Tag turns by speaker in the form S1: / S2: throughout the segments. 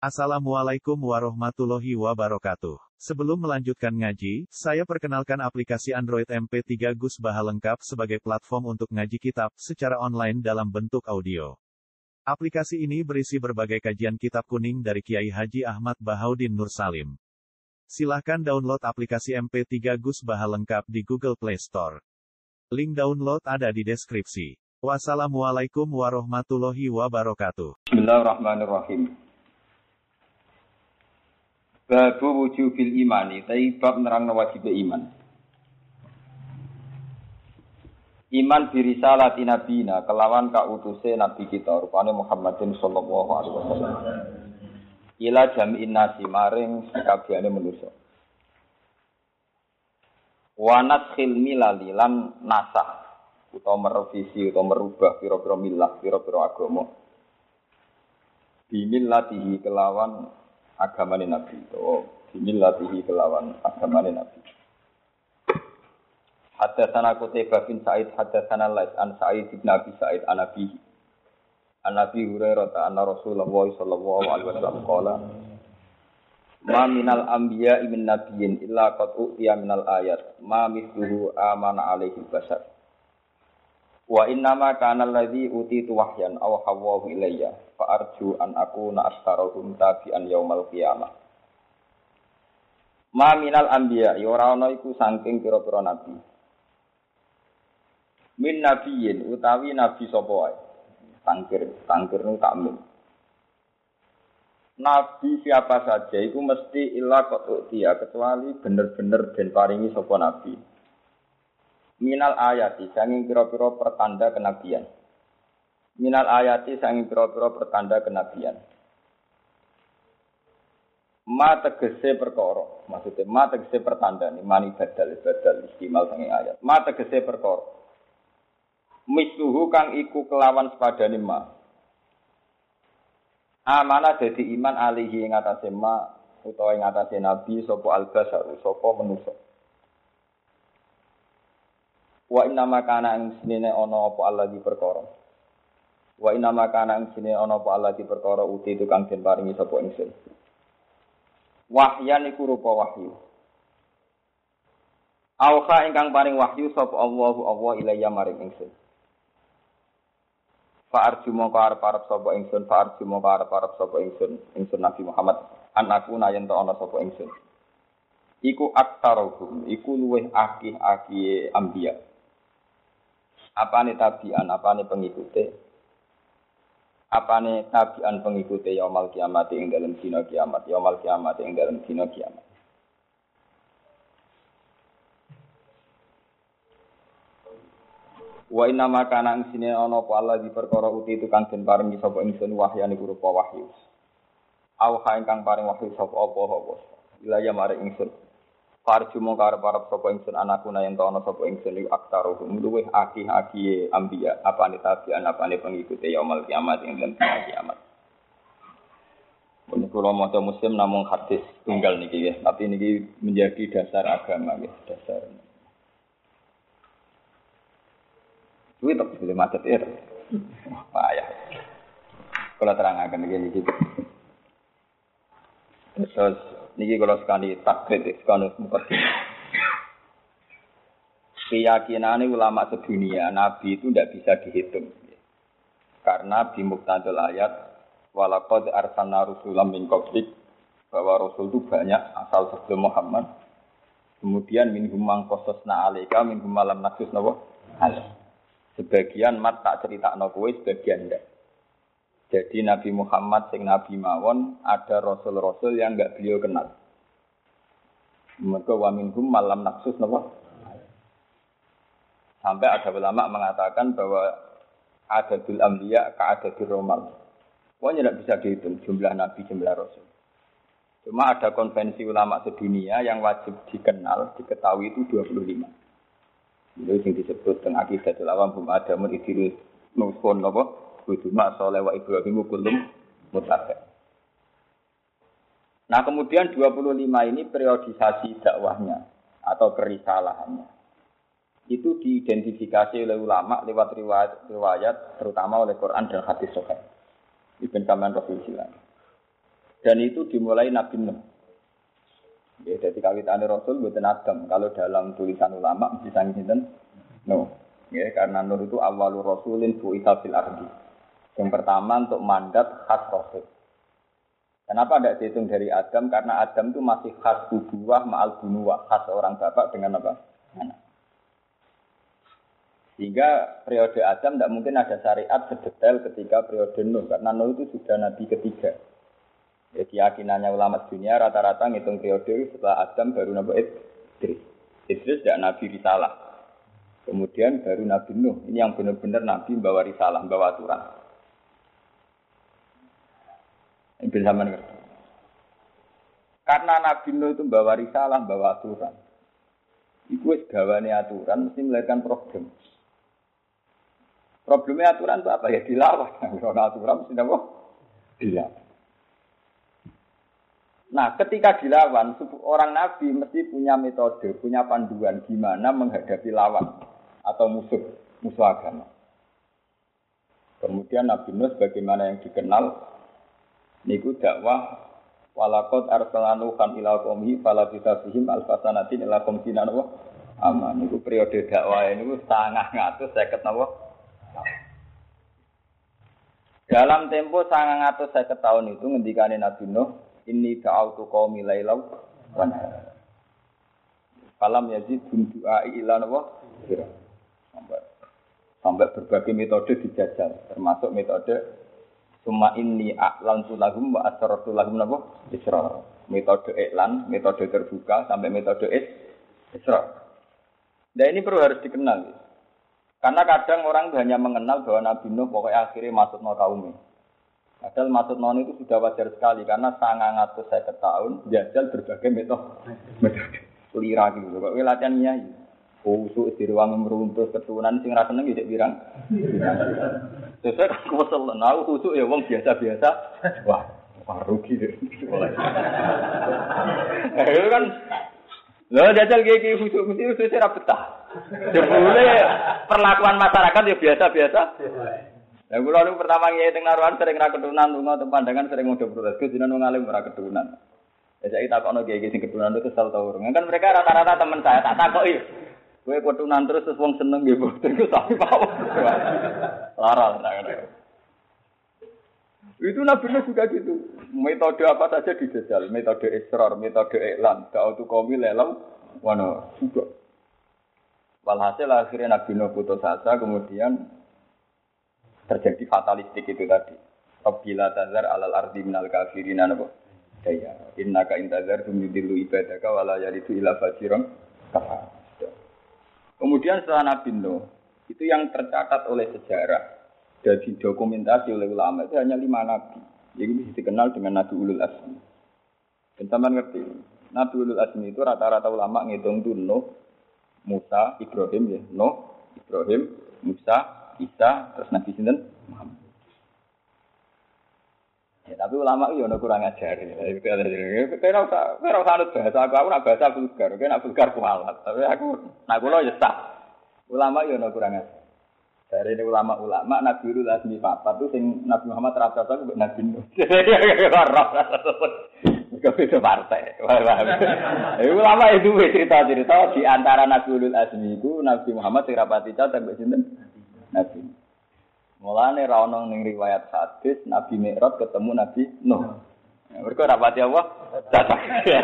S1: Assalamualaikum warahmatullahi wabarakatuh. Sebelum melanjutkan ngaji, saya perkenalkan aplikasi Android MP3 Gus Baha lengkap sebagai platform untuk ngaji kitab secara online dalam bentuk audio. Aplikasi ini berisi berbagai kajian kitab kuning dari Kiai Haji Ahmad Bahaudin Nur Salim. Silahkan download aplikasi MP3 Gus Baha lengkap di Google Play Store. Link download ada di deskripsi. Wassalamualaikum warahmatullahi wabarakatuh.
S2: Bismillahirrahmanirrahim. Babu wujubil imani, bab nerangno wajib iman. Iman birisalati nabina, kelawan kautuse nabi kita, rupane Muhammadin sallallahu alaihi wasallam. Ila jami'in nasi, maring sakabehane manusa. Wa naskhil milali lan nasah, utawa merevisi utawa merubah pira-pira milah, pira-pira agama. Bimillatihi kelawan agamane Nabi itu, bimillatihi kelawan agamane Nabi. Haddatsana Qutaibah bin Sa'id haddatsana Lais an Sa'id bin Abi Sa'id an Nabi. An Nabi Hurairah anna Rasulullah sallallahu alaihi wasallam qala ma minal anbiya'i min nabiyyin illa qad u'tiya minal ayat ma mithluhu amana alaihi bashar. Wa innama kana alladhi utitu wahyan aw hawahu ilayya fa arju an akuna astarahum tabi'an yaumal qiyamah. Ma minal anbiya ya ora ana iku saking pira-pira nabi. Min nabiyyin utawi nabi sapa wae. Tangkir nu takmin. Nabi siapa saja iku mesti illa qat'iyah kecuali bener-bener den paringi sapa nabi. Minal ayati sanging pira-pira pertanda kenabian. Minal ayati sanging pira-pira pertanda kenabian. Ma tegese perkara, maksudnya ma tegese pertanda ni mani badal istimal sanging ayat. Ma tegese perkara. Misluhu kang iku kelawan sepadane ma. Amanah dadi iman alihi ing atase ma utawa ing atase nabi sapa al-basaru sapa manusa. Wa inna ma kana ing sinene ana apa Allah di perkara. Wa inna ma kana ing sinene ana apa Allah di perkara uti itu kang den paringi sapa ingsun. Wahyan iku rupa wahyu. Auha ingkang paring wahyu sapa Allah ilayya maring ingsun. Fa arju mongko arep sapa ingsun, fa arju mongko arep sapa ingsun Nabi Muhammad anakku nayen ta ana sapa ingsun. Iku aktaruhum, iku luweh akih-akih anbiya. Apane tabian, apane pengikute? Apane tabian pengikute yaumul kiamat ing dalem dina kiamat, yaumul kiamat ing dalem dina kiamat. Wa inna ma kana ing sine ana apa Allah di perkara uti itu kang den paringi sapa ingsun wahyane rupa wahyu. Auha ingkang paring wahyu sapa apa ilaya mare ingsun. Farju mong karep sapa ingsun anakku yen ana sapa ingsun iku aktaruhum luweh akih-akih anbiya apane tabian apane pengikute yaumul kiamat ing dalem kiamat. Menika kula maca muslim namung hadis tunggal niki nggih, tapi niki menjadi dasar agama nggih, dasar. Kuwi tok bisa macet ya. Payah. Kula terangaken niki. Terus niki kalau sekali takrib, sekali mukaddim. Keyakinan ulama sedunia, Nabi itu tidak bisa dihitung. Karena bimuktadul ayat, walaqad arsalna rusulam min qablik, bahwa Rasul itu banyak asal sebelum Muhammad. Kemudian minhum man qasasna alaika, minhum lam naqsus nawa. Sebagian mat tak critakno kowe, sebagian ndak. Jadi Nabi Muhammad sing Nabi mawon ada rasul-rasul yang enggak beliau kenal. Mereka wa minhum malam naksus napa? Sampai ada ulama mengatakan bahwa adadul anbiya ka adadir romal. Pokoknya tidak bisa dihitung jumlah nabi, jumlah rasul. Cuma ada konvensi ulama sedunia yang wajib dikenal, diketahui itu 25. Itu yang disebut dengan aqidatul awam hum adamun idris nusun napa? Buduma soleh wa Ibrahimu kulum mutabe. Nah kemudian 25 ini periodisasi dakwahnya atau kerisalahannya. Itu diidentifikasi oleh ulama lewat riwayat terutama oleh Quran dan hadis sahih. Ibn Kaman Rasul Silang. Dan itu dimulai Nabi Nuh. Ya, jadi kawitannya Rasul buatan Adam. Kalau dalam tulisan ulama mesti sangi sinten Nuh. Ya, karena Nuh itu awalur rasulin bu'itsa fil ardi. Yang pertama untuk mandat khas Rasul. Kenapa tidak dihitung dari Adam? Karena Adam itu masih khas ubuwah ma'al bunuwah, khas orang bapak dengan apa? Anak. Sehingga periode Adam tidak mungkin ada syariat sedetail ketika periode Nuh, karena Nuh itu sudah nabi ketiga. Ya, keyakinannya ulama dunia rata-rata ngitung periode setelah Adam baru Nabi Idris. Idris tidak nabi risalah. Kemudian baru Nabi Nuh. Ini yang benar-benar nabi membawa risalah, membawa aturan. Ibn Zaman ngerti. Karena Nabi Nuh itu bawa risalah, bawa aturan. Itu gawane aturan mesti melahirkan problem. Problemnya aturan itu apa ya? Dilawan. Kalau aturan mesti apa? Dilawan. Nah, ketika dilawan, orang Nabi mesti punya metode, punya panduan gimana menghadapi lawan atau musuh agama. Kemudian Nabi Nuh bagaimana yang dikenal niku dakwah walaqad arsalna kan ila qaumi fala bisafihim alfasanatin ila qomtina wa aman niku periode dakwah niku 950 napa dalam tempo 950 tahun itu ngendikane Nabi Nuh inni da'autu qaumi lailaw wa nahar falam yazid du'ai ila napa sampai berbagai metode dijajal termasuk metode Suma ini a'lantu lahum wa asrartu lahum napa? Israr. Metode iklan, metode terbuka sampai metode israr. Nah ini perlu harus dikenal. Karena kadang orang hanya mengenal bahwa Nabi Nuh pokoknya akhirnya masuk no kaumnya. Padahal masuk no itu sudah wajar sekali karena 950 tahun jajal berbagai metode. Lira gitu. Kok latihan nyai. Usuk diruang meruntuh keturunan sing ra seneng iki pirang. Sesuk aku kesel aku usuk ya wong biasa-biasa. Wah, rugi deh. Itu kan lho jajal iki usuk mesti ora betah. Jebule perlakuan masyarakat ya biasa-biasa. Lah kula niku pertama ngiye teng Naruhan sering ra keturunan lunga teng pandangan sering ngodo protes jenengan wong alim ora keturunan. Ya saiki takokno kiye sing keturunan itu kesel ta urung. Kan mereka rata-rata teman saya tak takoki. Kowe keturunan terus wong seneng nggih mboten ku tapi pawon. Larang tak. Itu Nabi Nuh juga gitu. Metode apa saja dijajal, metode israr, metode iklan, da'utu qaumi lelam wana juga. Walhasil akhirnya Nabi Nuh putus asa kemudian terjadi fatalistik itu tadi. Rabbila tazar alal ardi minal kafirina napa? Daya. Innaka intazar tumidillu ibadaka wala yalidu ila fajiran kafar. Kemudian setelah Nabi Nuh, itu yang tercatat oleh sejarah dan didokumentasi oleh ulama itu hanya 5 nabi. Jadi bisa dikenal dengan Nabi Ulul Azmi. Dan teman ngerti, Nabi Ulul Azmi itu rata-rata ulama ngitung itu Nuh, Musa, Ibrahim ya. Nuh, Ibrahim, Musa, Isa, terus Nabi Sinten Muhammad. Ya, tapi ulama itu ada kurang ajar. Kira usah anut bahasa aku nak bahasa vulgar. Kira nak vulgar kualat. Tapi aku nak kulo ya sah. Ulama itu ada kurang ajar. Dari ini ulama-ulama Nabi Ulul Azmi papat itu sing Nabi Muhammad rata-rata itu Nabi Nuh. Mereka beda partai. Ulama itu cerita-cerita di antara Nabi Ulul Azmi itu Nabi Muhammad sing rapati catet mbek sinten? Nabi. Mulane ra ono ning riwayat hadis Nabi Mi'raj ketemu Nabi Nuh. Mergo rapati apa? Cacat.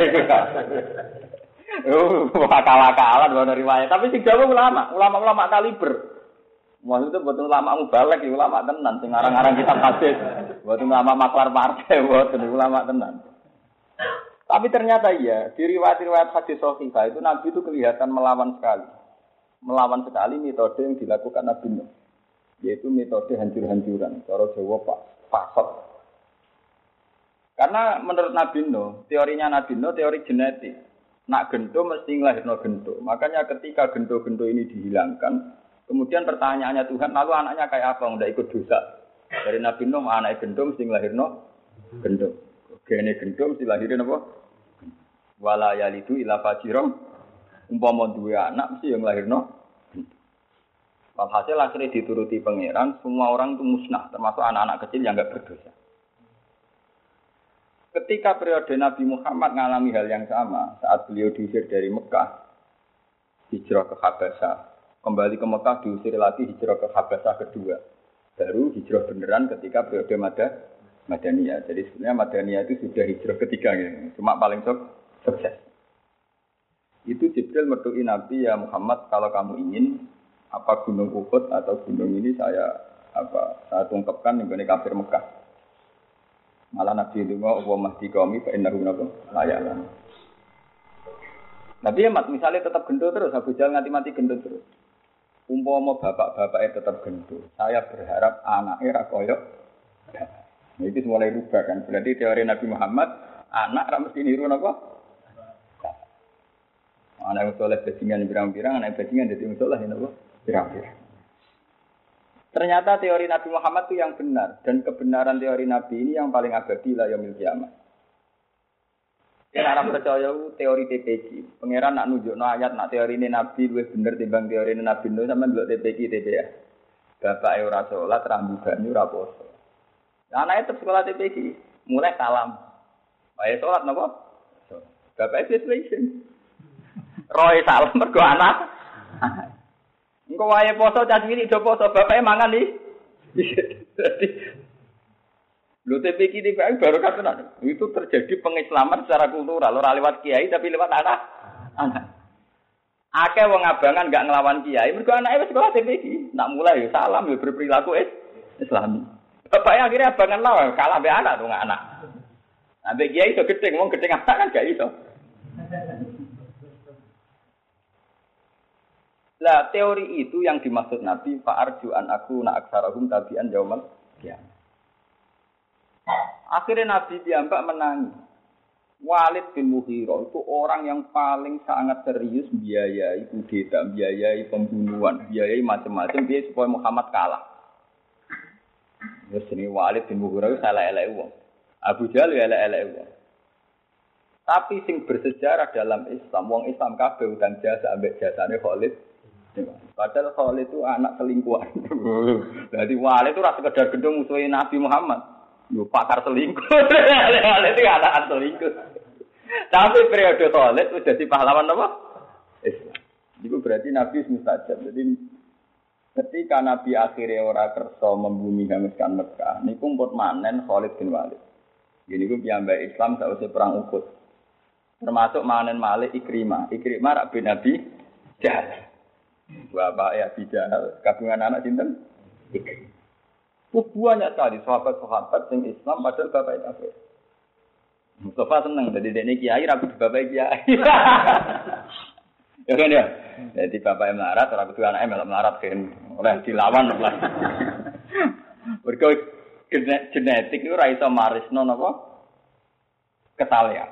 S2: Akal-akalan ono riwayat, tapi sing jawab ulama kaliber. Maksudnya betul ulama mubalek, ulama tenan sing arang-arang kitab hadis. Betul ulama maklar partai, betul ulama tenan. Tapi ternyata iya, di riwayat-riwayat hadis sahih itu Nabi itu kelihatan melawan sekali. Melawan sekali metode yang dilakukan Nabi Nuh. Yaitu metode hancur-hancuran, cara Jawa pasok. Karena menurut Nabi Nuh, teorinya Nabi Nuh teori genetik. Nak gento mesti nglahirno gento. Makanya ketika gento-gento ini dihilangkan, kemudian pertanyaannya Tuhan, lalu anaknya kayak apa? Nggak ikut dosa. Dari Nabi Nuh anak gento mesti nglahirno gento. Gene gento mesti lahirin apa? Wala yalidu ila fajiran. Umpama duwe anak mesti yang nglahirno. Hasil akhirnya dituruti pangeran, semua orang itu musnah, termasuk anak-anak kecil yang enggak berdosa. Ketika periode Nabi Muhammad mengalami hal yang sama saat beliau diusir dari Mekah, hijrah ke Habasyah, kembali ke Mekah diusir lagi hijrah ke Habasyah kedua. Baru hijrah beneran ketika periode Madaniyah. Jadi sebenarnya Madaniyah itu sudah hijrah ketiga gitu. Cuma paling sukses. Itu Jibril mertui Nabi, ya Muhammad, kalau kamu ingin apa gunung Uhud atau gunung ini saya tungkapkan dengan kafir Mekah. Malah Nabi itu mau mahdi kami fa innahu layalan. Nabi misalnya tetap gendut terus, Abu Jahal mati gendut terus. Umpama bapak-bapaknya tetap gendut, saya berharap anaknya ra koyo. Nah, itu mulai rubah kan. Berarti teori Nabi Muhammad, anak ra mesti niru napa? Anak soleh bajingan pirang-pirang, anak bajingan dadi soleh napa? Pirang-pirang. Ternyata teori Nabi Muhammad itu yang benar. Dan kebenaran teori Nabi ini yang paling abadi la yaumil kiamat. Yang Arab percaya teori TPG. Pangeran nak nunjukno ayat nak teori ini Nabi lebih benar timbang teori ini Nabi Nuh sama ndelok TPG TPA. Bapak ora salat, rambugane ora poso. Anake tetep sekolah TPG, mulai salam. Wae salat napa? Bapak situation. Roy salam mergo anak. Engko wae poso cah cilik do poso, bapake mangan iki. Dadi lho TPK TPA baru katakan itu terjadi pengislaman secara kultural, ora lewat kiai tapi lewat anak. Akeh wong abangan enggak nglawan kiai, mergo anake wis sekolah TPK. Nak mulai ya salam ya berperilaku Islami. Bapaknya akhirnya abangan lawan, kalah mbek anak dong anak. Ambek kiai iso gedeng, wong gedeng anak kan gak iso. Lah teori itu yang dimaksud Nabi fa'arju an aku na aksarahum tabi'an yaumal qiyamah. Akhirnya Nabi piyambak menangi. Walid bin Mughirah itu orang yang paling sangat serius biayai kudeta, biayai pembunuhan, biayai macam-macam dia supaya Muhammad kalah. Terus ini Walid bin Mughirah itu salah-elek wong. Abu Jahal ya elek-elek wong. Tapi sing bersejarah dalam Islam, wong Islam kabeh utang jasa ambek jasane Khalid. Padahal Khalid itu anak selingkuhan. Jadi Walid itu rasa sekedar gendong musuhin Nabi Muhammad. Yo pakar selingkuh. Walid itu anak selingkuh. Tapi periode Khalid itu jadi pahlawan apa? Islam. Itu berarti Nabi mustajab. Jadi ketika Nabi akhirnya ora kersa membumi hanguskan Mekah, niku pun manen Khalid bin Walid. Jadi ku piyambak Islam sausé perang Uhud. Termasuk manen Malik Ikrimah. Ikrimah rak bin Nabi Jahal. Bapak ya bijal kabungan anak sinten? Banyak sekali sahabat-sahabat yang Islam padahal bapak kafir. Mustafa seneng jadi dene kiai ra kudu bapak kiai. Ya kan ya. Jadi bapak melarat ora kudu anake melok melarat kan oleh dilawan lah. Mergo genetik itu ora iso marisno napa? Ketalian.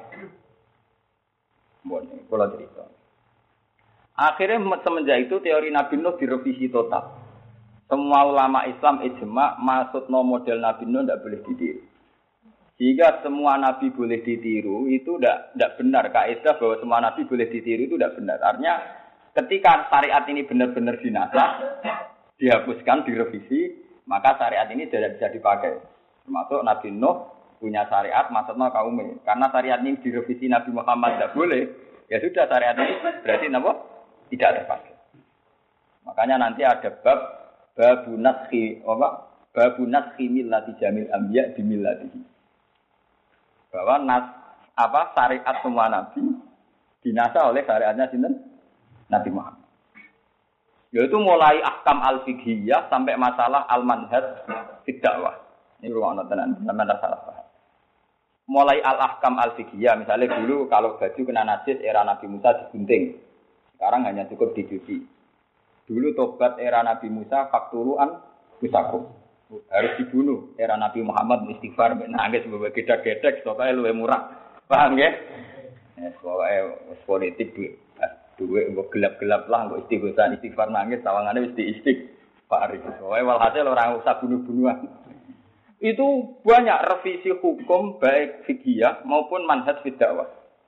S2: Mbon kula cerita. Akhirnya semenjak itu teori Nabi Nuh direvisi total. Semua ulama Islam ijma maksudnya model Nabi Nuh tidak boleh ditiru. Jika semua Nabi boleh ditiru itu tidak benar. Kaidah bahwa semua Nabi boleh ditiru itu tidak benar. Artinya ketika syariat ini benar-benar dinasah, dihapuskan, direvisi, maka syariat ini tidak bisa dipakai. Termasuk Nabi Nuh punya syariat maksudnya kaumnya. Karena syariat ini direvisi Nabi Muhammad tidak boleh. Ya sudah syariat ini berarti apa? Tidak terpakai. Makanya nanti ada babu naskhi millati jamil anbiya bi millatihi. Bahwa syariat semua nabi dinasah oleh syariatnya sinten? Nabi Muhammad. Yaitu mulai ahkam al-fiqhiyah sampai masalah al-manhaj fi dakwah. Ini ruang tenan, sampeyan salah paham. Mulai al-ahkam al-fiqhiyah, misalnya dulu kalau baju kena najis era Nabi Musa digunting. Sekarang hanya cukup dicuci. Dulu tobat era Nabi Musa faktuluan musakum. Harus dibunuh. Era Nabi Muhammad istighfar nangis bawa gedek-gedek supaya luwih murah. Paham ya? Soale politik duwe gelap-gelap lah kok istighfar nangis sawangane wis diistighfar. Soale walhasil orang usah bunuh-bunuhan. Itu banyak revisi hukum baik fikih maupun manhaj dakwah.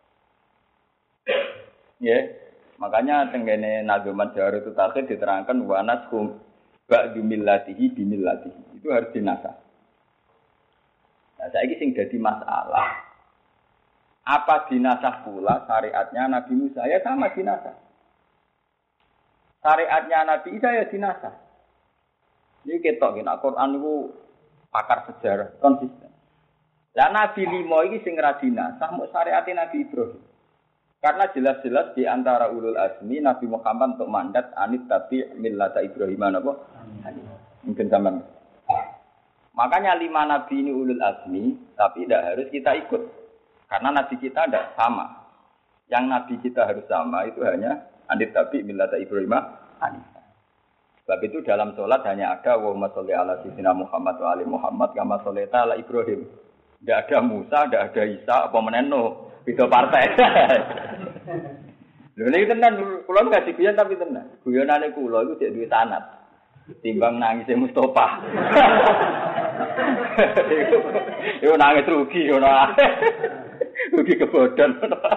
S2: Ya. Makanya tenggene nazuman Jawarut Takhir diterangkan wa nashum ba'du millatihi bimillatihi. Itu harus dinasah. Nah, saiki sing dadi masalah Apa dinasah pula syariatnya Nabi Musa? Ya sama dinasah. Syariatnya Nabi Isa ya dinasah. Ini ketok kena Quran itu pakar sejarah konsisten. Lah Nabi limo iki sing ra dinasah muk syariatnya Nabi Ibrahim. Karena jelas-jelas di antara ulul azmi Nabi Muhammad untuk mandat anit tapi millata Ibrahim apa? Mungkin zaman. Makanya 5 nabi ini ulul azmi, tapi tidak harus kita ikut. Karena nabi kita tidak sama. Yang nabi kita harus sama itu hanya anit tapi millata Ibrahim. Sebab itu dalam sholat hanya ada wa sholli ala sayyidina Muhammad wa ali Muhammad kama shollaita ala Ibrahim. Tidak ada Musa, tidak ada Isa, apa meneno. Itu partai. Lho niki tenan kula enggak diguyon tapi tenan. Guyonane kula iku cek duwe sanad. Timbang nangise Mustofa. Iku nangis rugi ngono. Rugi kebodhon.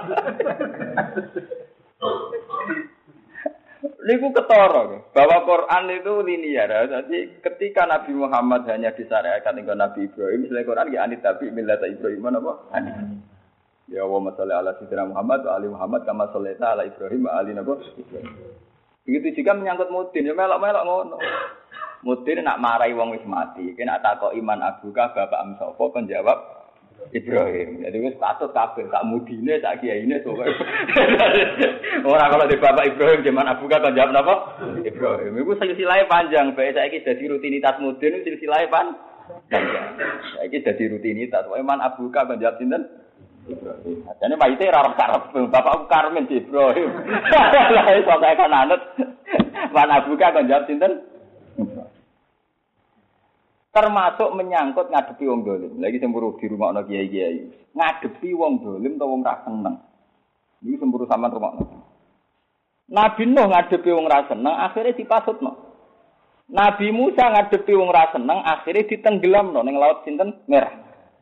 S2: Niku ketara bahwa Quran itu linear. Jadi ketika Nabi Muhammad hanya disyariatkan dengan Nabi Ibrahim, misalnya Quran ya anit tapi millata Ibrahim apa? Ya wa sholli ala sayyidina Muhammad wa ali Muhammad kama shollaita ala Ibrahim wa ali Ibrahim. Begitu juga menyangkut mudin, ya melok-melok ngono. Mudin nak marahi wong wis mati, kena takok iman abuka bapak am sapa kon jawab Ibrahim. Jadi wis patut kabeh sak mudine sak kiyaine sok. Ora kalau di bapak Ibrahim zaman abuka kon jawab napa? Ibrahim. Iku silsilahe panjang, bae saiki dadi rutinitas mudin silsilahe panjang. Saiki dadi rutinitas, iman abuka kon jawab sinten? Ibrahim. Jane mayite ora arep bapakku Karmen Ibrahim. Lah iso kaya kan anut. Mana buka kon jawab sinten? Termasuk menyangkut ngadepi wong dolim. Lagi semburu di rumahno kiai-kiai. Ngadepi wong dolim utawa wong ra seneng. Iki semburu sampean rumahno. Nabi Nuh ngadepi wong ra seneng akhire dipasutno. Nabi Musa ngadepi wong ra seneng akhire ditenggelamno ning laut sinten? Merah.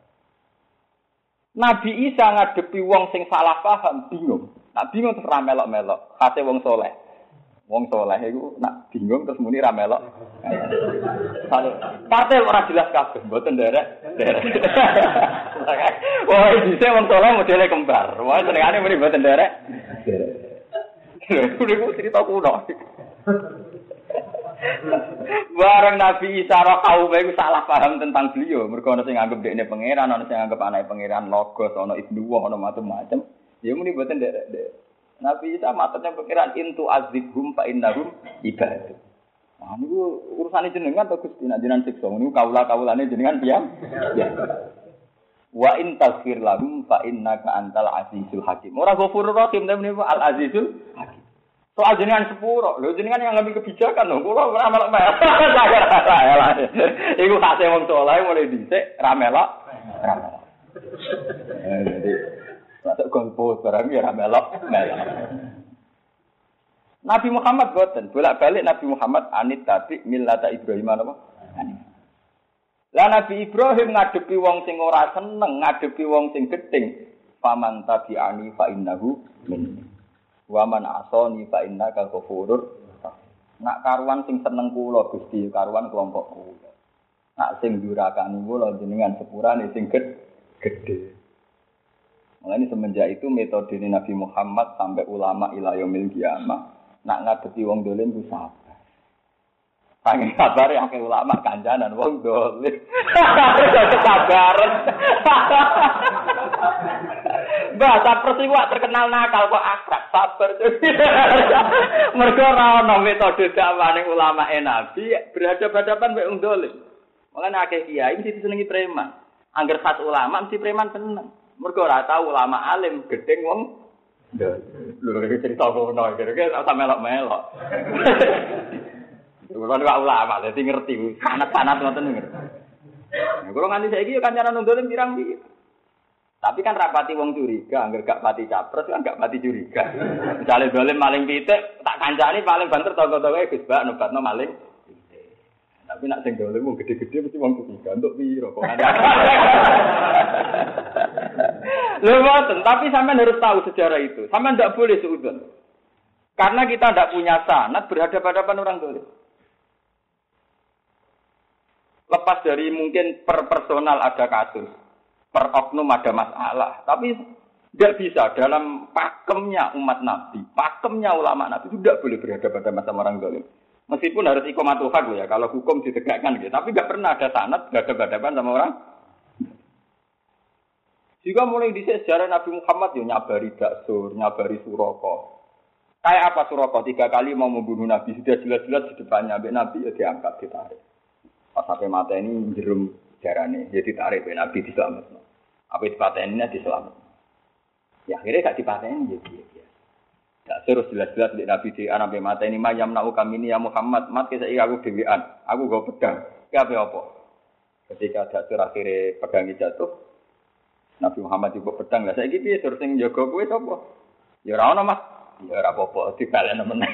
S2: Nabi Isa ngadepi wong sing salah paham, bingung. Nak bingung terus ra melok-melok, khase wong saleh. Wong saleh iku nak bingung terus muni ra melok. Partai ora jelas kabeh, mboten nderek. Wah, dhisik wong saleh modele kembar. Wah, senengane muni mboten nderek. Niku cerita kuno. Bareng Nabi Isa ro kaum iku salah paham tentang beliau. Mergo ana sing nganggep dekne pangeran, ana sing nganggep anake pangeran logos, ana ibnu wa, ana macam-macam. Ya muni mboten ndek. Nabi Isa matane pangeran intu azibhum fa innahum ibad. Nah niku urusane jenengan to Gusti, nek jenengan siksa niku kaula-kaulane jenengan piyam. Ya. Wa in taghfir lahum fa innaka antal azizul hakim. Ora ghafurur rahim tapi niku al azizul hakim. Soal jenengan sepuro, lho jenengan yang ngambil kebijakan lho, kula ora melok-melok. Iku khase wong saleh mulai dhisik ra melok. Jadi masuk golput barang ya ra melok. Nabi Muhammad boten, bolak-balik Nabi Muhammad anit tabi millata Ibrahim apa? Lah Nabi Ibrahim ngadepi wong sing ora seneng, ngadepi wong sing gedeng, faman tabi'ani fa innahu minni. Wa man asani fa innaka ghafurur. Nak karuan sing seneng kula Gusti, karuan kelompok kula. Nak sing durakani kula jenengan sepurane sing gedhe. Mulane semenjak itu metode Nabi Muhammad sampai ulama ila yaumil qiyamah nak ngadepi wong dolim ku sabar. Pengen sabar ya akeh ulama kancanan wong dolim. Sabaran. Bahasa persiwa terkenal nakal kok akrab sabar. Mergo ora ana metode dakwahane ulama Nabi berhadapan-hadapan mek wong dolim. Mulane akeh kiai mesti disenengi preman. Angger khas ulama mesti preman seneng. Mergo ora tau ulama alim gedeng wong dolim. Lho iki cerita ngono kira-kira ora melok-melok. Kulo nek ulama dadi ngerti sanad-sanad ngoten ngerti. Kulo nganti saiki yo kancanan wong dolim pirang-pirang. Tapi kan rapati wong curiga, angger gak pati capres kan gak pati curiga. Misale dolim maling pitik, tak kancani paling banter tonggo-tonggoe Gus Bak nobatno maling pitik. Tapi nak sing dolim wong gede-gede mesti wong curiga untuk piro kok ada. Lho mboten, tapi sampean harus tahu sejarah itu. Sampean ndak boleh seudon. Karena kita ndak punya sanad berhadapan-hadapan orang dolim. Lepas dari mungkin per personal ada kasus. Per oknum ada masalah, tapi Tidak bisa dalam pakemnya umat Nabi, pakemnya ulama Nabi itu tidak boleh berhadapan sama orang zalim. Meskipun harus ikomatul haq ya, kalau hukum ditegakkan gitu. Tapi nggak pernah ada sanad berhadapan sama orang. Juga mulai di sejarah Nabi Muhammad ya nyabari Daksur, nyabari Suroko. Kayak apa Suroko 3 kali mau membunuh Nabi sudah jelas-jelas di depannya, Nabi ya diangkat ditarik. Pas sampai mata ini jerum jarane, jadi ditarik Nabi diselamatkan. Apa dipateninya diselamatkan. Ya akhirnya gak dipateni ya dia. Tak terus jelas-jelas di Nabi di anak mata ini mayam nau kami ini ya Muhammad mat kita aku dewean aku go pedang apa ketika Daksur akhirnya pedangnya jatuh Nabi Muhammad juga pedang lah saya gitu ya terus yang jaga kowe sapa ya ora ono Mas ya ora apa-apa dibalen meneh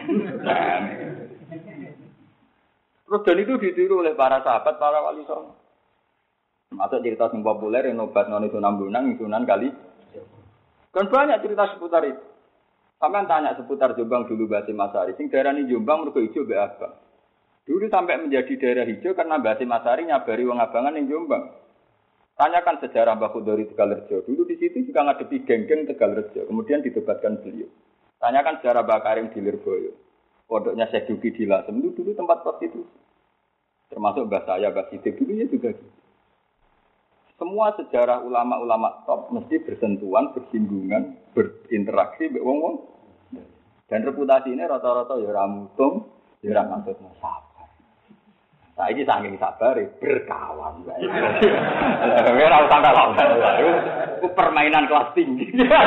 S2: terus dan itu ditiru oleh para sahabat para wali songo masuk cerita sing populer yang obat non itu Sunan kali kan banyak cerita seputar itu. Sampai tanya seputar Jombang dulu Basim Asari. Sing daerah ini Jombang mergo hijau be abang. Dulu sampai menjadi daerah hijau karena Basim Asari nyabari wong abangan ning Jombang. Tanyakan sejarah Mbah Khudori Tegalrejo. Dulu di situ juga ngadepi geng-geng Tegalrejo. Kemudian ditobatkan beliau. Tanyakan sejarah Mbah Karim di Lirboyo. Pondoknya Syekh Duki di Lasem itu dulu tempat prostitusi. Termasuk Mbah saya, Mbah Sidik dulu ya juga gitu. Semua sejarah ulama-ulama top mesti bersentuhan, bersinggungan, berinteraksi mbek wong-wong. Dan reputasi ini rata-rata ya ora mutung, ya ora maksud sabar. Saiki saking sabar berkawan wae. Ora usah kalah. Itu permainan kelas tinggi.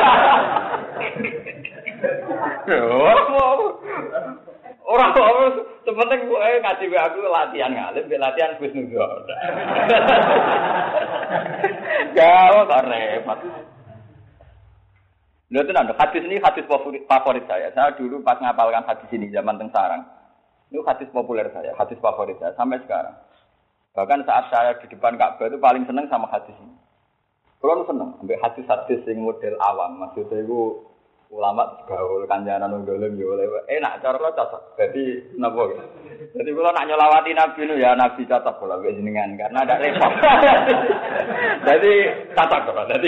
S2: Orang sepenting gue ngaji aku latihan ngalim, latihan Gus Nuzul. Gak repot. Lihat nanti hadis ini hadis favorit saya. Saya dulu pas ngapalkan hadis ini zaman teng Sarang. Itu hadis populer saya, hadis favorit saya sampai sekarang. Bahkan saat saya di depan Ka'bah itu paling senang sama hadis ini. Kalau senang, sampai hadis-hadis yang model awam, maksudnya itu ulama gaul kanjanan wong dolim yo enak cara lo cocok. Jadi napa? Jadi kula nak nyelawati Nabi nu ya Nabi cocok kula wis jenengan karena ada repot. Jadi cocok kok. Jadi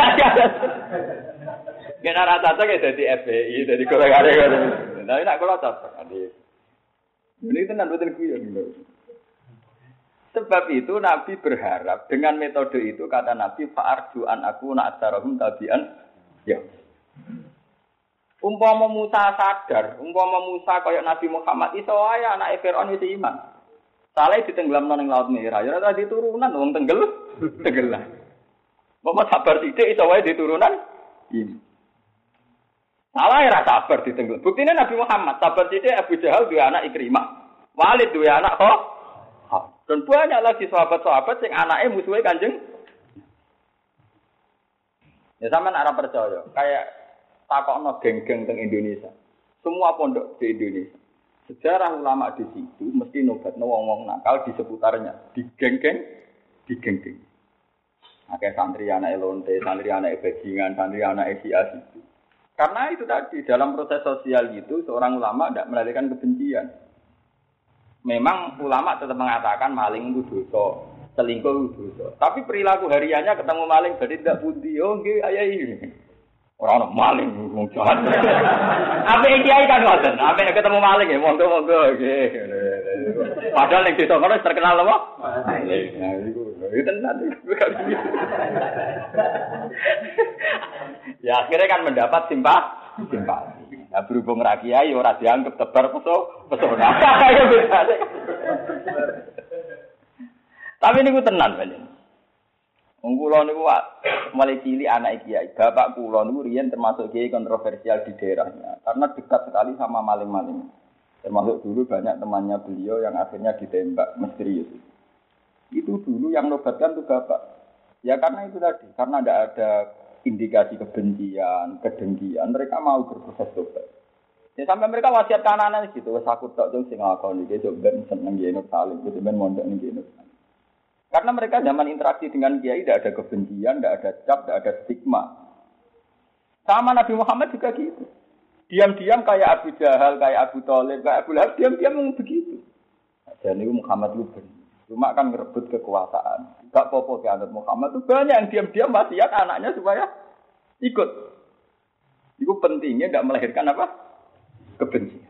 S2: kena rata cocok ya dadi FPI, dadi golek-golek. Tapi nak kula cocok. Ini tenan betul guyon. Sebab itu Nabi berharap dengan metode itu kata Nabi fa'arju an aku nak atsarahum tabian ya. Umpama Musa sadar, umpama Musa kaya Nabi Muhammad iso wae anake Firaun wis iman. Saleh ditenggelamno ning Laut Merah, ya ora diturunan wong tenggelam. Umpama sabar sithik iso wae diturunan iman. Salah ora sabar ditenggelam. Buktine Nabi Muhammad sabar sithik Abu Jahal duwe anak Ikrimah. Walid duwe anak kok. Dan banyak lagi sahabat-sahabat sing anake musuhe Kanjeng. Ya sampean ora percaya, kayak takokno geng-geng teng Indonesia. Semua pondok di Indonesia. Sejarah ulama di situ mesti nobatno wong-wong nakal di seputarnya, di geng-geng. Akeh santri anak lonte, santri anak bajingan, santri anak sias itu. Karena itu tadi dalam proses sosial itu seorang ulama tidak melahirkan kebencian. Memang ulama tetap mengatakan maling itu dosa, selingkuh itu dosa. Tapi perilaku hariannya ketemu maling berarti tidak budi. Oh nggih ayah ini. Orang maling wong jahat. Apa kiai kan ngoten, apa ketemu maling ya monggo-monggo nggih. Padahal ning desa kono terkenal apa? Maling. Nah iku tenan. Ya akhirnya kan mendapat simpati. Nah berhubung ra kiai ora dianggap tebar pesona. Tapi niku tenan panjenengan. Wong kula niku mulai cilik anak kiai. Bapak kula niku riyen termasuk kiai kontroversial di daerahnya karena dekat sekali sama maling-maling. Termasuk dulu banyak temannya beliau yang akhirnya ditembak misterius. Itu dulu yang nobatkan tuh bapak. Ya karena itu tadi, karena tidak ada indikasi kebencian, kedengkian, mereka mau berproses tobat. Ya sampai mereka wasiat kanan gitu, wes aku tok sing ngakoni iki ben seneng yen saling gitu ben mondok ning kene. Karena mereka zaman interaksi dengan kiai tidak ada kebencian, tidak ada cap, tidak ada stigma. Sama Nabi Muhammad juga gitu. Diam-diam kayak Abu Jahal, kayak Abu Thalib, kayak Abu Lahab, diam-diam memang begitu. Dan itu Muhammad itu benar. Cuma kan merebut kekuasaan. Gak apa-apa ke anak Muhammad itu banyak yang diam-diam wasiat anaknya supaya ikut. Itu pentingnya tidak melahirkan apa? Kebencian.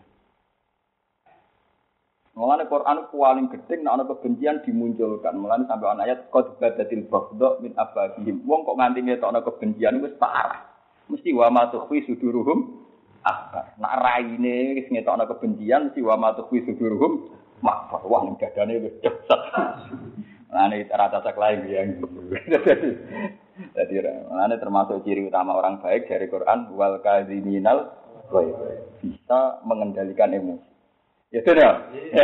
S2: Mulane Quran paling gede nek ana kebencian dimunculkan. Mulane sampai ana ayat qad badatil baghdha min afahihim. Wong kok nganti ngetokno kebencian wis parah. Mesti wa ma tukhfi suduruhum akbar. Nek raine wis ngetokno kebencian mesti wa ma tukhfi suduruhum makbar. Wah ning dadane wis dahsyat. Mulane rata sak lain yang. Jadi mulane termasuk ciri utama orang baik dari Quran wal kadziminal ghaib. Bisa mengendalikan emosi. Ya sudah.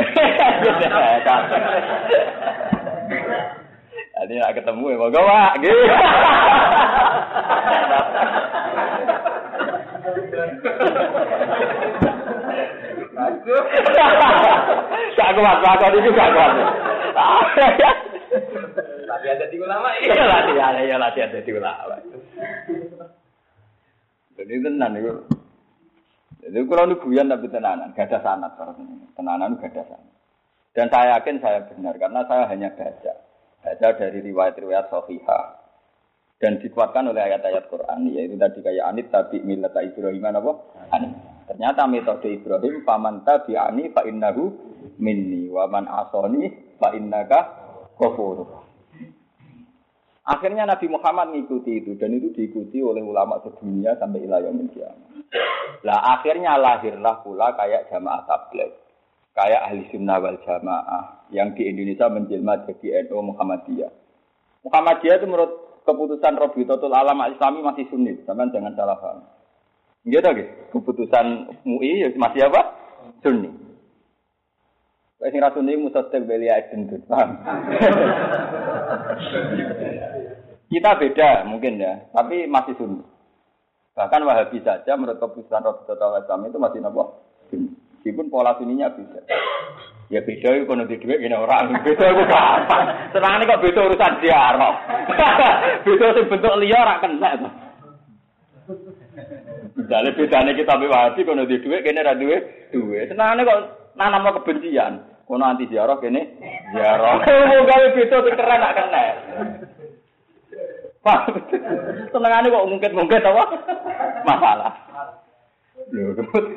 S2: Jadi nak ketemu ya moga Pak. Gitu. Tak kuat, aku itu gak kuat.
S3: Latihan jadi ulama.
S2: Iya latihan jadi ulama. Jadi tenan itu. Jadi kalau ini guyon tapi tenanan, gak ada sanad tenanan gak ada sanad. Dan saya yakin saya benar karena saya hanya baca dari riwayat-riwayat sahihah dan dikuatkan oleh ayat-ayat Quran yaitu tadi kayak anit tabi millata Ibrahim apa? Anit. Ternyata metode Ibrahim faman tabi'ani fa innahu minni wa man asani fa innaka ghafur. Akhirnya Nabi Muhammad mengikuti itu dan itu diikuti oleh ulama sedunia sampai ila yaumil qiyamah. Lah akhirnya lahirlah pula kayak jamaah tabligh, kayak ahli sunnah wal jamaah yang di Indonesia menjelma jadi NU Muhammadiyah. Muhammadiyah itu menurut keputusan Rabitatul Alam Islami masih Sunni, sampean jangan salah paham. Gitu guys, keputusan MUI masih apa? Sunni. Sing ra Sunni mustaqil belia itu, paham? Kita beda mungkin ya, tapi masih Sunni. Bahkan Wahabi saja menurut keputusan Rabitatul Islam itu masih napa? Meskipun pola Sunninya bisa. Ya beda itu kono di dhuwit ngene orang. Beda iku gampang. Senengane kok beda urusan ziarah. Beda sing bentuk liya ora kena to. Misale bedane kita mbek Wahabi kono di dhuwit kene ra duwe duwe. Senengane kok nanamno kebencian. Kono anti ziarah kene ziarah. Wong gawe beda sing keren nak kena. Pak, senengane kok ngungkit-ngungkit apa? Masalah. Lho,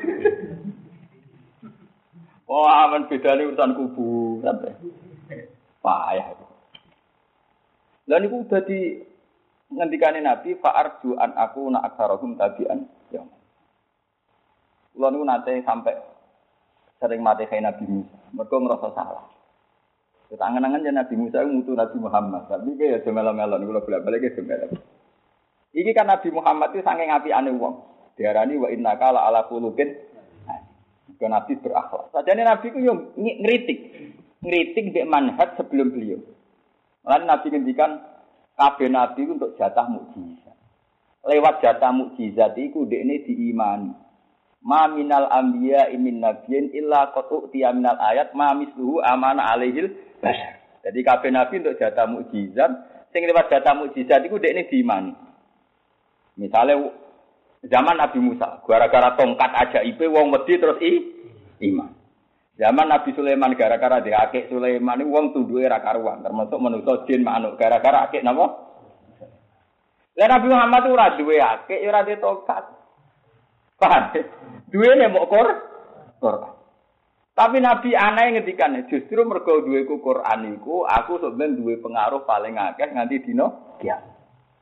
S2: oh, aman bedane urusan kubu sampai. Payah. Lah niku udah di ngendikane Nabi fa'arju an aku na aktsarahum tabi'an. Ya. Kula niku nate sampai sering mati kayak Nabi Musa. Mergo ngerasa salah. Ketangan-angan ya Nabi Musa ngutu Nabi Muhammad. Tapi ya semelo-melo niku bolak-balik ya semelo. Iki kan Nabi Muhammad itu saking apiane wong. Diarani wa innaka la ala khuluqin. Ke Nabi berakhlak. Sajane Nabi ku yo ngritik mbek manhaj sebelum beliau. Lan Nabi ngendikan kabeh nabi untuk jatah mukjizat. Lewat jatah mukjizat iku dekne diimani. Ma minal anbiya min nabiyyin illa qatu tiyaminal ayat ma misluhu amana alaihil bashar. Jadi kabeh nabi untuk jatah mukjizat, sing lewat jatah mukjizat iku dekne diimani. Misale zaman Nabi Musa, gara-gara tongkat ajaibe wong wedi terus iman. Zaman Nabi Sulaiman gara-gara diakik Sulaiman iki wong tunduke ra karuan, termasuk manusa jin manuk gara-gara akik napa? Lah Nabi Muhammad ora duwe akik, ora duwe tongkat. Paham? Duwene mok Quran. Tapi Nabi anae ngendikane justru mergo duweku Quran iku aku sampeyan duwe pengaruh paling akeh nganti dina kiamat.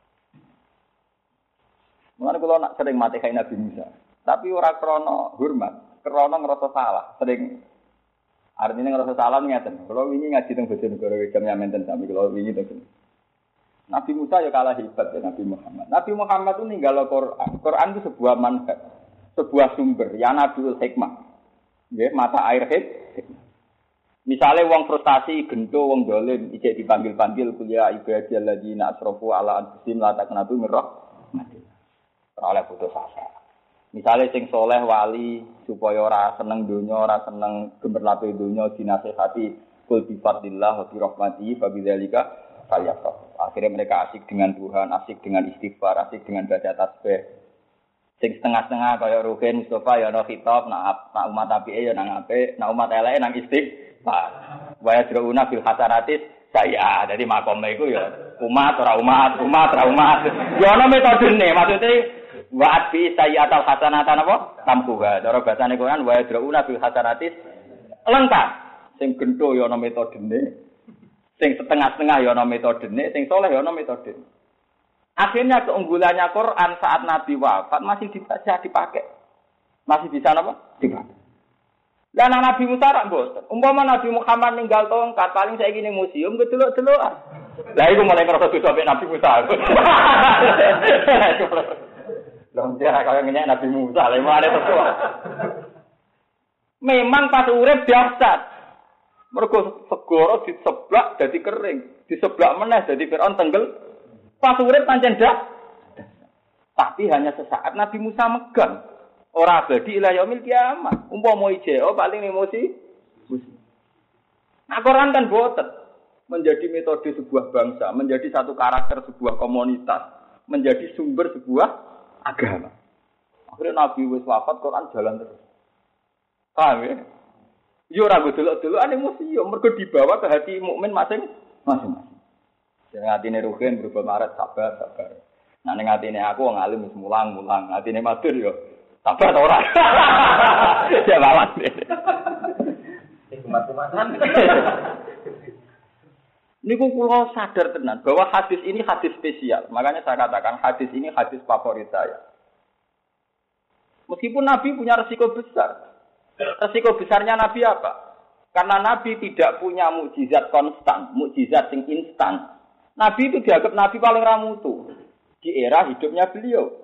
S2: Mulane kula nak sering mati kayak Nabi Musa. Tapi ora krana hormat, krana ngrasa salah. Sering artinya ngrasa salah ngeten. Kula wingi ngaji teng Bojonegoro jam menten sami kula wingi teng. Nabi Musa ya kalah hebat ya Nabi Muhammad. Nabi Muhammad itu ninggal Quran. Quran itu sebuah manhaj, sebuah sumber, ya Nabiul Hikmah. Nggih, mata air hikmah. Misale wong frustasi, gento wong dolim, ijek dipanggil-panggil kuliah ibadil ladina asrafu ala anfusihim la taqnatu min rahmatillah. Oleh putus asa. Misalnya sing soleh wali supaya ora seneng dunya, ora seneng gemerlape dunya dinasehati kul bi fadlillah wa bi rahmatihi fa bidzalika falyafrah. Akhirnya mereka asik dengan Tuhan, asik dengan istighfar, asik dengan baca tasbih. Sing setengah-setengah kaya Ruhin Mustafa ya ana khitab, nak umat apike ya nang apik, nak umat eleke nang istighfar. Wa yadruna bil hasanatis saya. Jadi makome iku ya umat ora umat. Ya ana metodene, maksudnya Wa bi sayyatal hasanatan apa? Tampuha. Cara basane Quran wa yadrauna bil hasanatis lengkap. Sing gendho ya ana metodene. Sing setengah-setengah ya ana metodene, sing saleh ya ana metodene. Akhirnya keunggulannya Quran saat Nabi wafat masih bisa dipakai. Masih bisa apa? Dipakai. Lah Nabi Musa rak mboten. Umpama Nabi Muhammad ninggal tongkat paling saiki ning museum kedelok-delokan. Lah iku mulai ngerasa dosa mek Nabi Musa. Long dia kaya ngenyek Nabi Musa, lha mare terus. Memang pas urip dahsyat. Mergo segara diseblak dadi kering, diseblak meneh dadi Firaun tenggel. Pas urip pancen dah. Tapi hanya sesaat Nabi Musa megang. Ora abadi ila yaumil kiamat. Umpama ijeo paling emosi. Nah, Quran kan boten. Menjadi metode sebuah bangsa, menjadi satu karakter sebuah komunitas, menjadi sumber sebuah agama. Akhirnya Nabi wis wafat, Quran jalan terus. Paham ya? Yo ora delok-delokan emosi, yo mergo dibawa ke hati mukmin masing-masing. Sing atine rugen berubah maret sabar. Nah ning atine aku wong alim wis mulang-mulang, atine matur yo sabar ta ora? Ya lawan. Kumat-kumatan. Niku kula sadar tenan bahwa hadis ini hadis spesial. Makanya saya katakan hadis ini hadis favorit saya. Meskipun Nabi punya resiko besar. Resiko besarnya Nabi apa? Karena Nabi tidak punya mukjizat konstan, mukjizat yang instan. Nabi itu dianggap Nabi paling ramutu di era hidupnya beliau.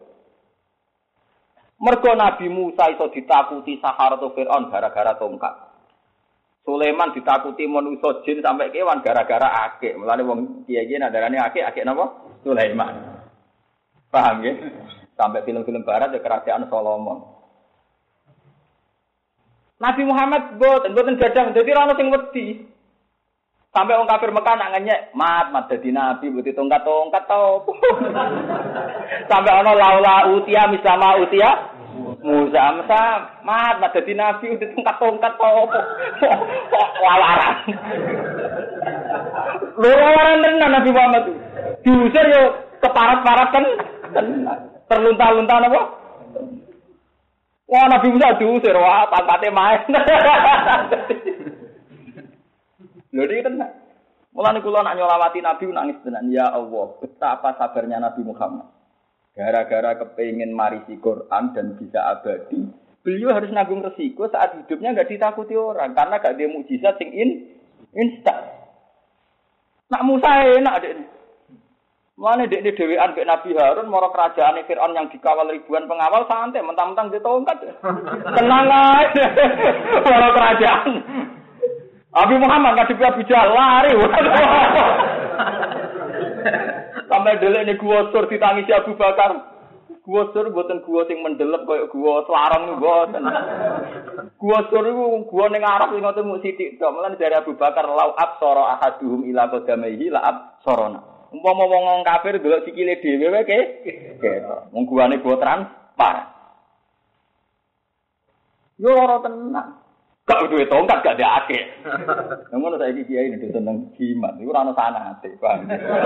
S2: Mergo Nabi Musa iso ditakuti Saharatu Fir'aun gara-gara tongkat. Sulaiman ditakuti manusa jin sampai kewan gara-gara akik. Mulane wong kiye-kiye nadarane akik napa? Sulaiman. Paham nggih? Sampai film-film barat ya kerajaan Solomon. Nabi Muhammad boten gadah dadi ora ono sing wedi. Sampai wong kafir Mekah nak ngenyek, mat dadi nabi mesti tongkat-tongkat to. Sampai ono laula utia mislama utia Musa mat dadi nabi mesti tongkat-tongkat to. Lawaran. Lawaran tenan Nabi Muhammad. Diusir yo keparat-parat kan terlunta-lunta napa? Wah Nabi Musa diusir, wah pangkate main. Lho iki tenan. Mulane kula nak nyolawati Nabi nangis tenan. Ya Allah, betapa sabarnya Nabi Muhammad. Gara-gara kepengin marisi Quran dan bisa abadi, beliau harus nanggung resiko saat hidupnya enggak ditakuti orang karena enggak ada mukjizat sing instan. Nak Musa enak dek. Mulane dekne dhewean mek Nabi Harun mara kerajaane Firaun yang dikawal ribuan pengawal santai mentang-mentang ditongkat. Tenang ae. Mara kerajaan. Nabi Muhammad ngadepi Abu Jahal lari. Sampai delek gua sur ditangisi Abu Bakar. Gua sur mboten gua sing mendelep kaya gua Selarang mboten. Gua sur iku gua ning Arab sing ngoten mung sithik tok. Mulane dari Abu Bakar lau absara ahaduhum ila qadamaihi la absarona. Umpama wong kafir delok sikile dhewe wae ketok. Wong guane gua transparan. Yo ora tenan. Gak duwe tongkat gak ada akeh. Ngono saiki kiai ini seneng jimat. Iku ora ono sanate, Bang.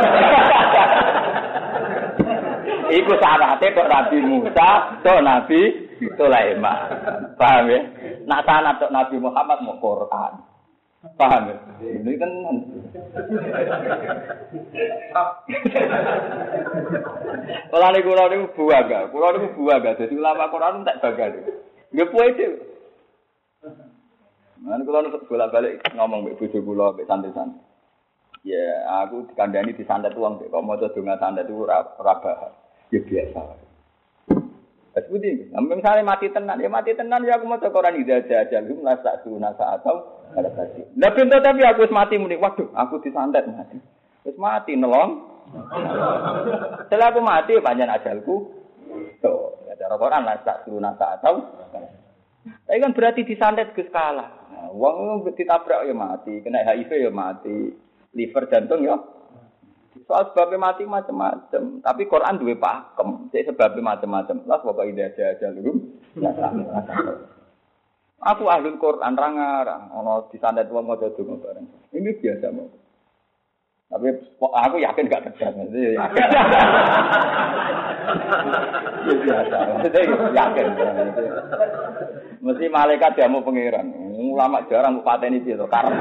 S2: Iku sanate tok Nabi Musa, tok Nabi Sulaiman. Paham ya? Nak sanad tok Nabi Muhammad mau Quran. Paham ya? Ini kan Kula niku buaga. Dadi ulama Quran tak bagal. Nggih puede. Nah, kalau nusuk bolak-balik ngomong mbek bojo kula mbek santai-santai. Ya, aku dikandani disantet wong kok maca donga santet itu ora bahas. Ya biasa. Wes pundi? Ampun misale mati tenan ya aku maca Quran ida jajal la sa'tuna sa'atau ala tadi. Lah pintu tapi aku wis mati muni. Waduh, aku disantet mati. Wis mati nelong. Setelah aku mati panjang ajalku. Tuh, ya cara Quran la sa'tuna sa'atau. Tapi kan berarti disantet Gus kalah. Wong ditabrak ya mati, kena HIV ya mati, liver jantung ya. Soal sebabnya mati macam-macam. Tapi Quran duwe pakem, jadi sebabnya macam-macam. Lah pokoke ide aja dulu. Aku ahli Quran rangarang, ono disantet wong maca donga bareng. Ini biasa mau. Tapi aku yakin gak terjadi. Yakin. Biasa. Yakin. Mesti malaikat dia mau pangeran. Ulama jarang pateni piye to karep.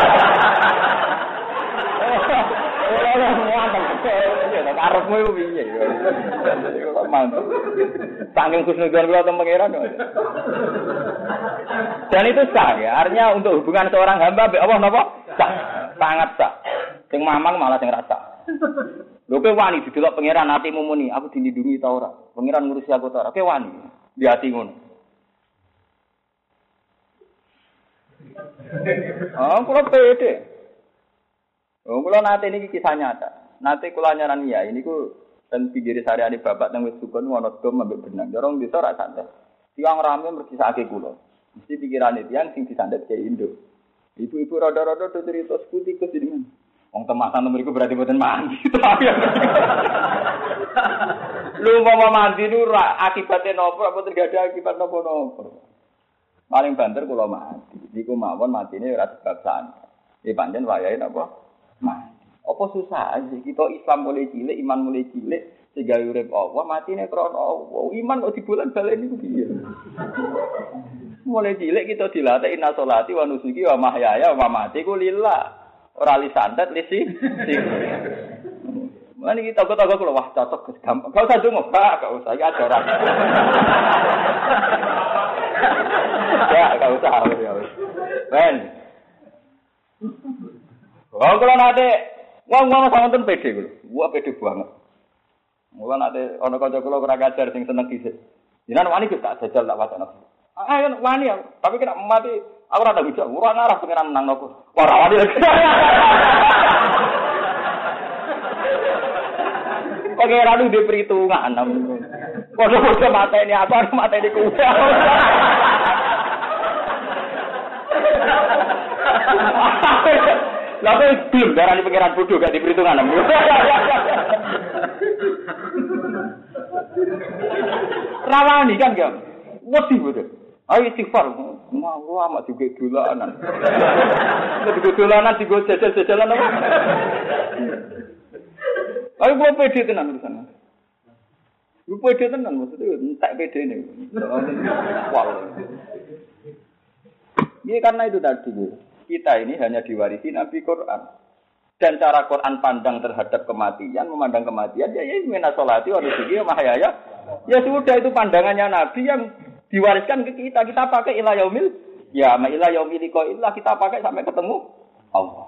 S2: Ora muatan karepmu iku piye. Kok mantap. Saking khusnudzon kula teng pangeran. Dan itu sah ya. Artinya untuk hubungan seorang hamba mbek Allah napa? Sah. Sangat sah. Sing mamang malah sing rasa. Lho kowe wani didelok pangeran atimu muni, aku dilindungi ta ora? Pangeran ngurusi aku ta ora? Kowe wani di ati ngono. Kula pede. Kula nate niki kisah nyata. Nate kula nyaran ya, ini ku ten pinggir sareane bapak teng wis sukun ana dom ambek benang. Dorong desa ra santai. Tiang rame mergisake kula. Mesti pikirane tiyang sing disandet ke Indo. Ibu-ibu rada-rada do cerita seputi kesidingan. Wong temasan mriku berarti mboten mandi. Lu mau mandi nu akibate napa apa tergada akibat napa-napa. Paling banter kula mati. Niku mawon matine ora sebab sanad. Pancen wayahe napa? Mati. Apa susah aja kita Islam mulai cilik, iman mulai cilik, sehingga urip Allah matine krana Allah. Iman kok dibulan balen niku piye? Mulai cilik kita dilatih inna sholati wa nusuki wa mahyaya wa mamati ku lillah. Ora li santet li si. Mulane iki toko-toko kula wah cocok gampang. Gak usah ndonga, Pak, gak usah iki ajaran. Ya, gak usah ya wis. Ben. Wong kula nate wong-wong sawanten pede kula. Wah pede banget. Mula nate ana kanca kula ora ngajar sing seneng dhisik. Jenengan wani Gus tak jajal tak wacana. Ayo wani ya, tapi kena mati aku ora tak bisa, ora ngarah pengen menang nopo. Ora wani lagi. Pengen lu di perhitungan. Kode-kode mateni apa mateni kuda. Lalu belum darah di pengiran bodoh gak di perhitungan. Rawani kan gak? Wedi bodoh. Ayo istighfar. Mau amat juga dolanan. Juga dolanan juga jajal-jajalan apa? Ayo gua pede tenan urusan. Lu pede tenan maksudnya entek pede ini. Wah. Ini karena itu tadi. Kita ini hanya diwarisi Nabi Quran. Dan cara Quran pandang terhadap kematian, memandang kematian, ya minna sholati wa nusuki wa mahyaya. Ya sudah itu pandangannya Nabi yang diwariskan ke kita. Kita pakai ila yaumil, ya ma ila yaumil liqa'illah kita pakai sampai ketemu Allah.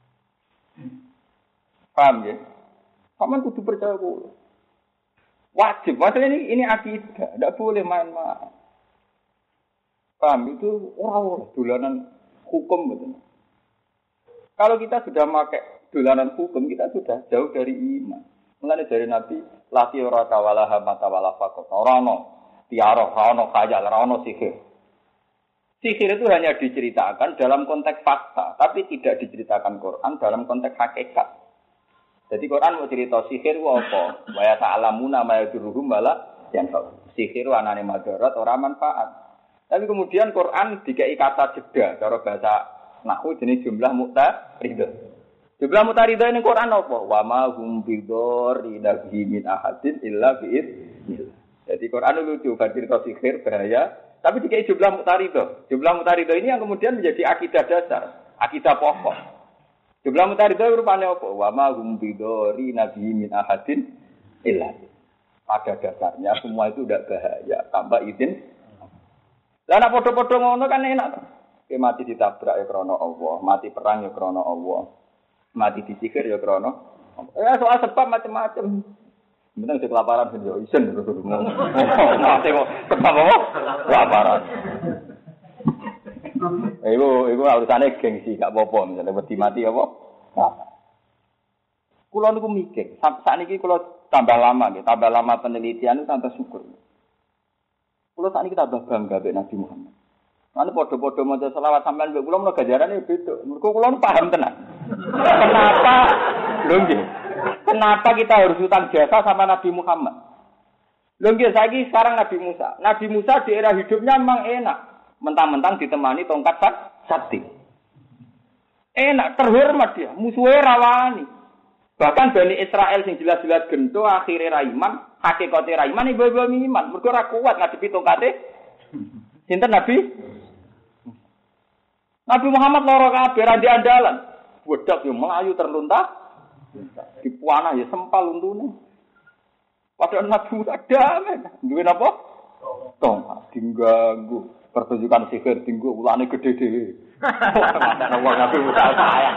S2: Paham ya? Kamu kudu percaya kuwi. Wajib, maksudnya ini akidah, tidak boleh main-main. Paham itu orang dolanan hukum betul. Kalau kita sudah pakai dolanan hukum, kita sudah jauh dari iman. Mulane dari Nabi, lati ora tawala hamata wala faqat. Ora ono tiara, ora ono khayal, ora ono sihir. Sihir itu hanya diceritakan dalam konteks fakta, tapi tidak diceritakan Quran dalam konteks hakikat. Jadi Quran mau cerita sihir ku apa? Wa ya ta'lamuna ma yadurruhum wala yanfa. Sihir anane madarat ora manfaat. Tapi kemudian Quran dikai kata jeda, cara bahasa nahwu jenis jumlah muqtaridah. Jumlah muqtaridah ini Quran apa? Wa ma hum bidorri nabi min ahadin illa bi'idznillah. Jadi Quran lucu, cerita sihir bahaya, tapi dikai jumlah muqtaridah. Jumlah muqtaridah ini yang kemudian menjadi akidah dasar, akidah pokok. Jumlah muqtaridah rupane apa? Wa ma hum bidorri nabi min ahadin illa. Pada dasarnya semua itu tidak bahaya, tanpa izin. Lah nek padha-padha ngono kan enak to. Ki mati ditabrak ya krana Allah, mati perang ya krana Allah. Mati disihir ya krana Allah. Soal sebab macam-macam. Bener sing kelaparan ben yo isen. Mati kok sebab apa? Kelaparan. Iku urusane gengsi gak apa-apa misale wedi mati apa? Kula niku mikir, sakniki kula tambah lama nggih, tambah lama penelitian itu tambah syukur. Kulo sakniki tambah bangga mbek Nabi Muhammad. Ane padha-padha maca selawat sampean mbek kula menawa ganjarane beda. Mergo kula paham tenan. Kenapa? Lho nggih. Kenapa kita harus utang jasa sama Nabi Muhammad? Lho nggih saiki sekarang Nabi Musa. Nabi Musa di era hidupnya memang enak. Mentang-mentang ditemani tongkat sakti. Enak terhormat dia, musuhe rawani. Bahkan Bani Israel sing jelas-jelas gento akhire ra iman, hakikate ra iman ibu-ibu iman. Mergo ora kuat ngadepi tongkate sinten Nabi? Nabi Muhammad loro kabeh ra andalan. Wedhok yo melayu terluntah. Dipuanah ya sempal untune. Padahal Nabi damai. Duwe napa? Tong diganggu pertunjukan sihir tinggu ulane gede dhewe. Mata wong Nabi Musa sayang.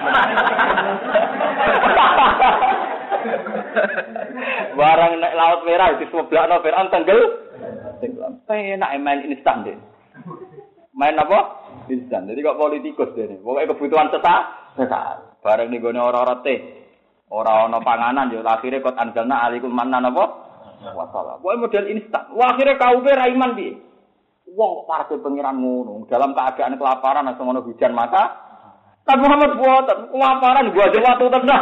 S2: Barang nek laut merah diseblakno Firaun tenggel. Enak main instan deh. Main apa? Instan. Jadi kok politikus dene. Pokoke kebutuhan sesaat. Bareng ning gone ora-ora teh. Ora ana panganan yo akhire kot anjalna alaikum mannan apa? Wassalam. Pokoke model instan. Wah akhire kauke ra iman piye? Wong parke pengiran ngono, dalam keadaan kelaparan atau ngono hujan maka Nabi Muhammad buat kelaparan gua aja waktu tenang.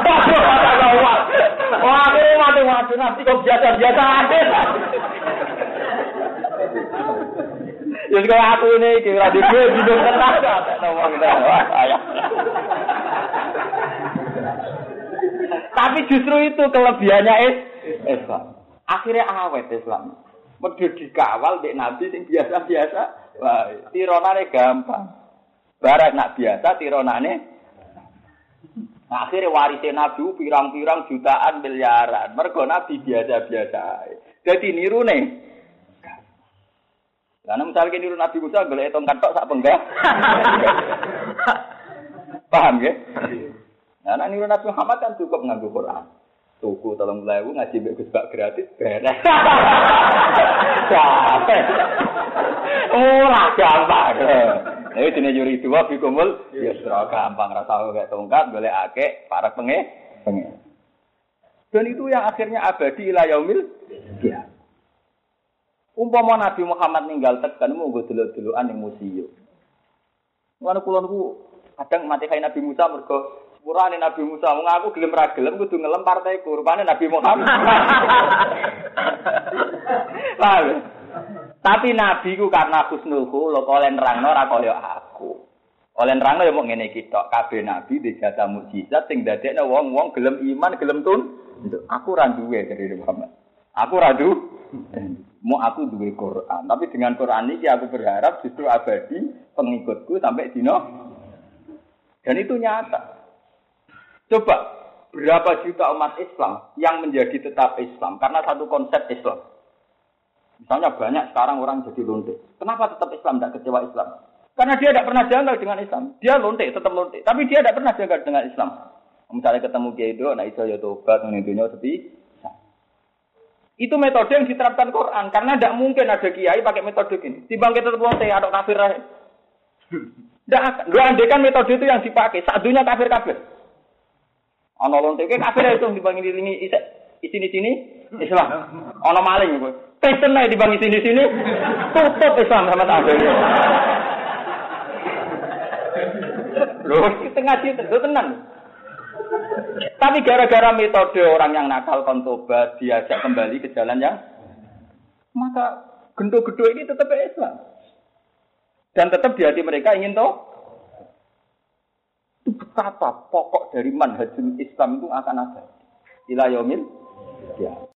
S2: Wah, mati nanti kok biasa-biasa aja. Ya kalau aku ini kira di gue hidup tenang Tapi justru itu kelebihannya Islam. Akhirnya awet Islam. Medhe dikawal dek Nabi sing biasa-biasa. Wah, tironane gampang. Barat nak biasa tironane. Akhirnya warise Nabi pirang-pirang jutaan miliaran. Mergo Nabi biasa-biasa. Dadi nirune. Lah misalnya niru Nabi Musa golek tongkat tok sak penggah. Paham nggih? Nah, niru Nabi Muhammad kan cukup nganggo Quran. Tuku 3.000 ngaji mbek Gus Bak gratis beres. Ora gampang. Nek dene yuri dua bikumul ya ora gampang ra tau gak tongkat golekake para pengen. Dan itu yang akhirnya abadi ila yaumil qiyamah. Umpama Nabi Muhammad ninggal tekan mung delok-delokan ning museum. Lan kula niku kadang mati kaya Nabi Musa mergo sepurane Nabi Musa wong aku gelem ra gelem kudu ngelem partaiku rupane Nabi Muhammad. Tapi Nabi ku karena husnul khuluq oleh nerangno ora kaya aku. Oleh nerangno ya mung ngene iki tok kabeh nabi dijasa mukjizat sing dadekno wong-wong gelem iman gelem Aku ra duwe dari Muhammad. Aku ra mau aku duwe Quran, tapi dengan Quran ini aku berharap justru abadi pengikutku sampai dino. Dan itu nyata. Coba berapa juta umat Islam yang menjadi tetap Islam karena satu konsep Islam. Misalnya banyak sekarang orang jadi lonte. Kenapa tetap Islam tidak kecewa Islam? Karena dia tidak pernah janggal dengan Islam. Dia lonte, tetap lonte. Tapi dia tidak pernah janggal dengan Islam. Misalnya ketemu Kiai Do, nah iso ya tobat menentunya sepi. Itu metode yang diterapkan Quran karena tidak mungkin ada kiai pakai metode ini. Timbang kita tetap lonte atau kafir aja. Tidak akan. Lu andekan metode itu yang dipakai. Sadunya kafir-kafir. Ono lonte ke kafir itu dibangin di sini Islam. Ono maling itu. Kristen aja dibangin sini tutup Islam sama tak. Loh, kita ngaji itu tenang. Tapi gara-gara metode orang yang nakal kontobat diajak kembali ke jalan yang maka gendo-gendo ini tetap Islam. Dan tetap di hati mereka ingin tahu itu betapa pokok dari manhajul Islam itu akan ada ila yaumil qiyamah.